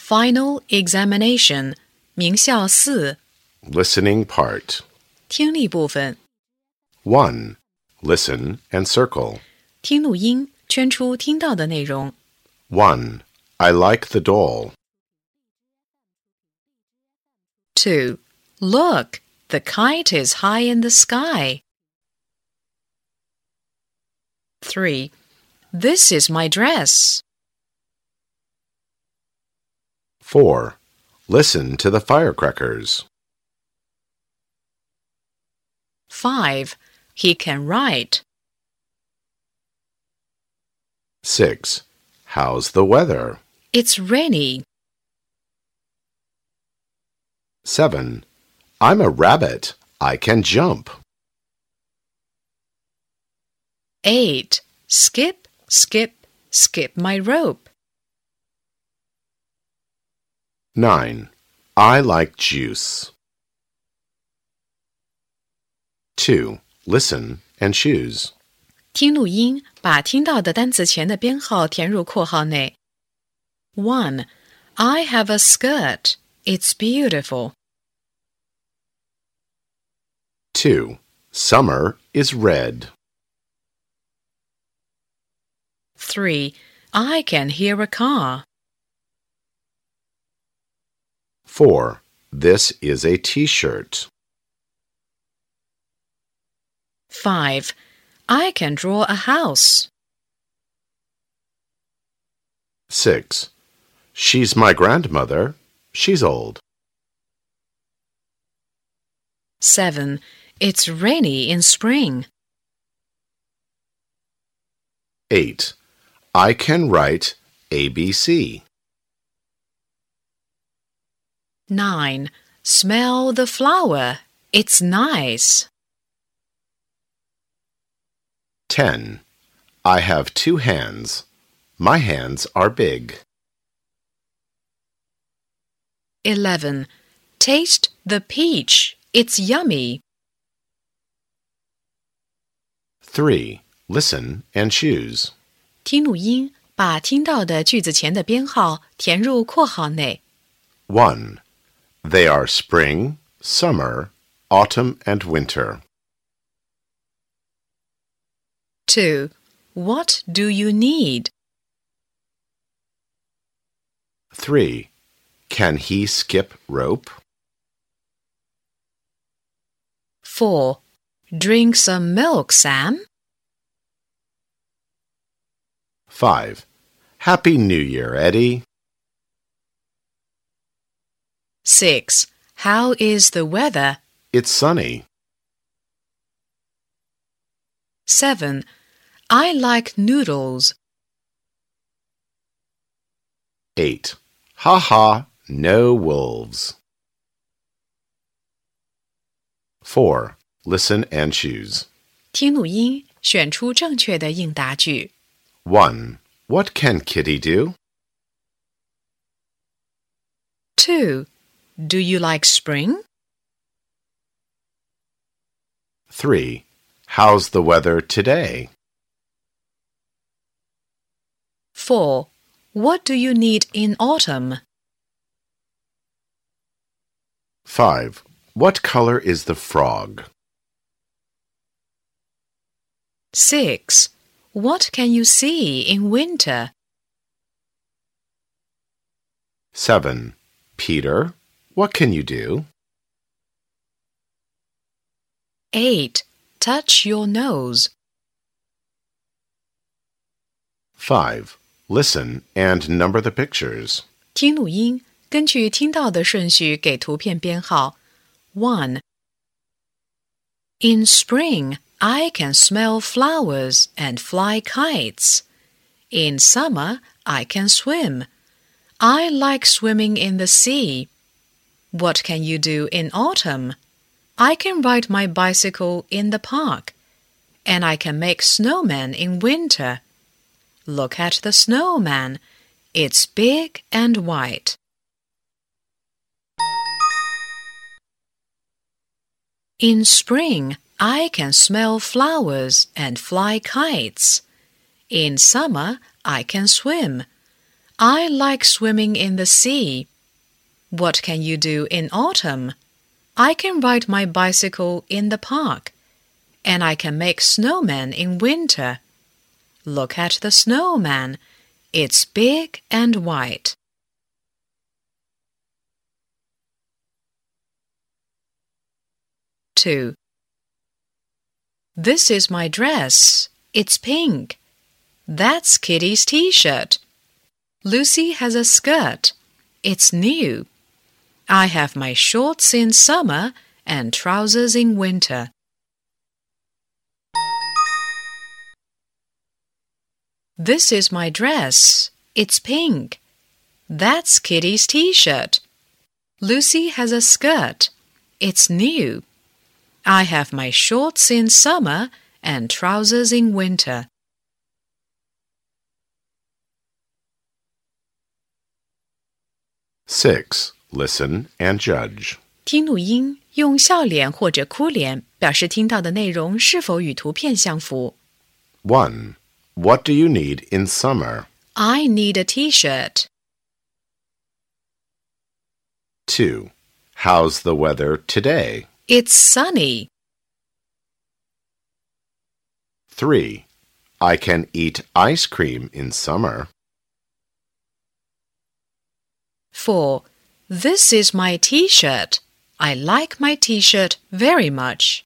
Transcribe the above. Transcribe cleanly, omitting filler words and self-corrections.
Final examination 名校4 Listening part. 听力部分 1. Listen and circle. 听录音，圈出听到的内容。 1. I like the doll. 2. Look, the kite is high in the sky. 3. This is my dress. 4. Listen to the firecrackers. 5. He can write. 6. How's the weather? It's rainy. 7. I'm a rabbit. I can jump. 8. Skip, skip, skip my rope. 9. I like juice. 2. Listen and choose. 听录音，把听到的单词前的编号填入括号内。1. I have a skirt. It's beautiful. 2. Summer is red. 3. I can hear a car. 4. This is a t-shirt. 5. I can draw a house. 6. She's my grandmother. She's old. 7. It's rainy in spring. 8. I can write ABC. 9. Smell the flower. It's nice. 10. I have 2 hands. My hands are big. 11. Taste the peach. It's yummy. 3. Listen and choose. 听录音，把听到的句子前的编号填入括号内。 1. They are spring, summer, autumn, and winter. 2. What do you need? 3. Can he skip rope? 4. Drink some milk, Sam. 5. Happy New Year, Eddie. 6. How is the weather? It's sunny. 7. I like noodles. 8. Ha ha, no wolves. 4. Listen and choose. 听录音，选出正确的应答句。 1. What can Kitty do? 2. Do you like spring? 3. How's the weather today? 4. What do you need in autumn? 5. What color is the frog? 6. What can you see in winter? 7. Peter, what can you do? 8. Touch your nose. 5. Listen and number the pictures. 听录音，根据听到的顺序给图片编号。1. In spring, I can smell flowers and fly kites. In summer, I can swim. I like swimming in the sea. What can you do in autumn? I can ride my bicycle in the park. And I can make snowmen in winter. Look at the snowman. It's big and white. In spring, I can smell flowers and fly kites. In summer, I can swim. I like swimming in the sea. What can you do in autumn? I can ride my bicycle in the park, and I can make snowmen in winter. Look at the snowman. It's big and white. Two. This is my dress. It's pink. That's Kitty's t-shirt. Lucy has a skirt. It's new. I have my shorts in summer and trousers in winter. This is my dress. It's pink. That's Kitty's t-shirt. Lucy has a skirt. It's new. I have my shorts in summer and trousers in winter. 6. Listen and judge. 听录音，用笑脸或者哭脸表示听到的内容是否与图片相符。 1. What do you need in summer? I need a t-shirt. 2. How's the weather today? It's sunny. 3. I can eat ice cream in summer. 4. This is my t-shirt. I like my t-shirt very much.